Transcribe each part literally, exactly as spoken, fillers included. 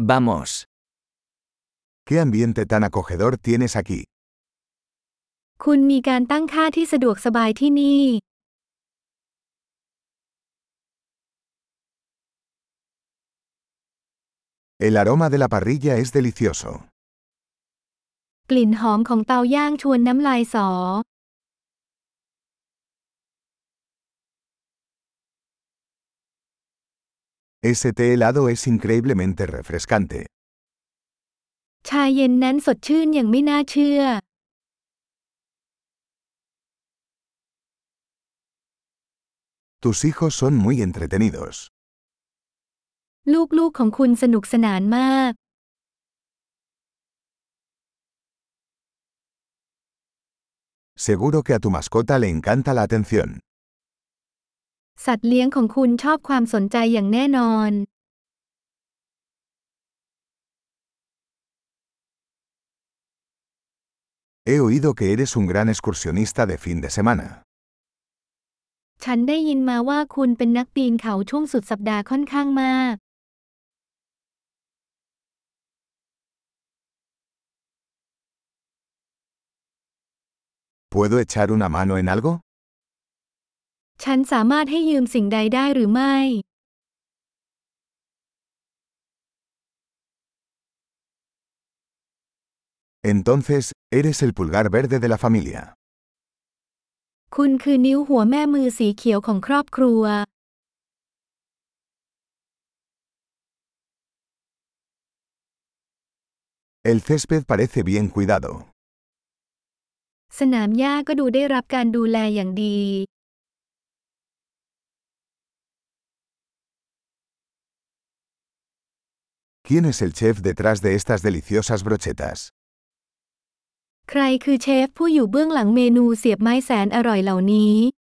Vamos. ¿Qué ambiente tan acogedor tienes aquí? คุณมีการตั้งค่าที่สะดวกสบายที่นี่ El aroma de la parrilla es delicioso. กลิ่นหอมของเตาย่างชวนน้ำลายสอ Ese té helado es increíblemente refrescante. ชาเย็นนั้นสดชื่นอย่างไม่น่าเชื่อ Tus hijos son muy entretenidos. ลูกๆของคุณสนุกสนานมาก Seguro que a tu mascota le encanta la atención. สัตว์เลี้ยงของคุณชอบความสนใจอย่างแน่นอน He oído que eres un gran excursionista de fin de semana. ฉันได้ยินมาว่าคุณเป็นนักปีนเขาช่วงสุดสัปดาห์ค่อนข้างมาก ¿Puedo echar una mano en algo? ฉันสามารถให้ยืมสิ่งใดได้หรือไม่ Entonces, eres el pulgar verde de la familia. คุณคือนิ้วหัวแม่มือสีเขียวของครอบครัว El césped parece bien cuidado. สนามหญ้าก็ดูได้รับการดูแลอย่างดี ¿Quién es el chef detrás de estas deliciosas brochetas? ใครคือเชฟผู้อยู่เบื้องหลังเมนูเสียบไม้แสนอร่อยเหล่านี้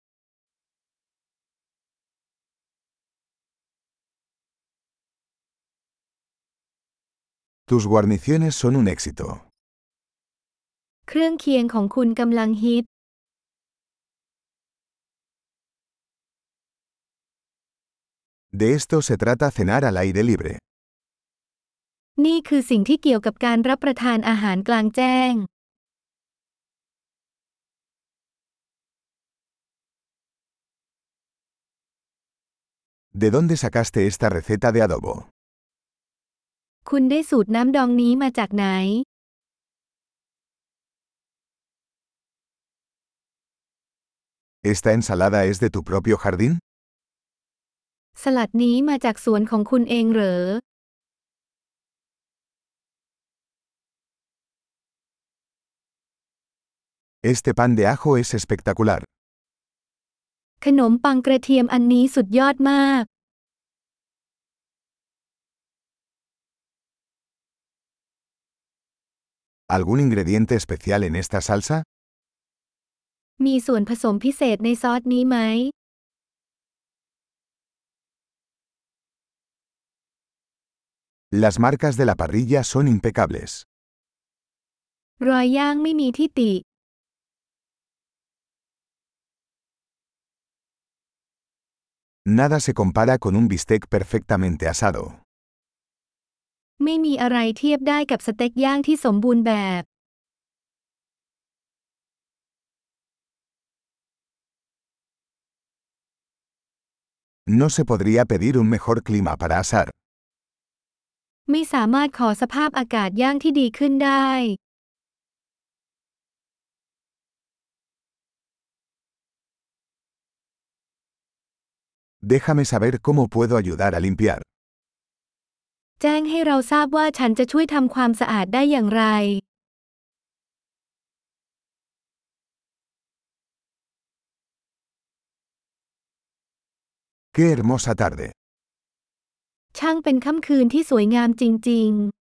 Tus guarniciones son un éxito. เครื่องเคียงของคุณกำลังฮิต De esto se trata cenar al aire libre. นี่คือสิ่งที่เกี่ยวกับการรับประทานอาหารกลางแจ้ง ¿De dónde sacaste esta receta de adobo? คุณได้สูตรน้ำดองนี้มาจากไหน ¿Esta ensalada es de tu propio jardín? สลัดนี้มาจากสวนของคุณเองเหรอ Este pan de ajo es espectacular. ขนมปังกระเทียมอันนี้สุดยอดมาก ¿Algún ingrediente especial en esta salsa? มีส่วนผสมพิเศษในซอสนี้ไหม Las marcas de la parrilla son impecables. รอยย่างไม่มีที่ติ Nada se compara con un bistec perfectamente asado. ไม่มีอะไรเทียบได้กับสเต็กย่างที่สมบูรณ์แบบ No se podría pedir un mejor clima para asar. ไม่สามารถขอสภาพอากาศย่างที่ดีขึ้นได้ Déjame saber cómo puedo ayudar a limpiar. แจ้งให้เราทราบว่าฉันจะช่วยทำความสะอาดได้อย่างไร ¡Qué hermosa tarde! ช่างเป็นค่ำคืนที่สวยงามจริงๆ